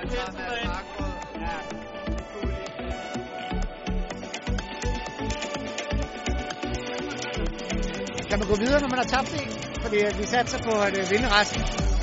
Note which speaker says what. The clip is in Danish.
Speaker 1: det bedste derinde. Ja.
Speaker 2: Kan man gå videre, når man har tabt en? Fordi vi satser på at vinde resten.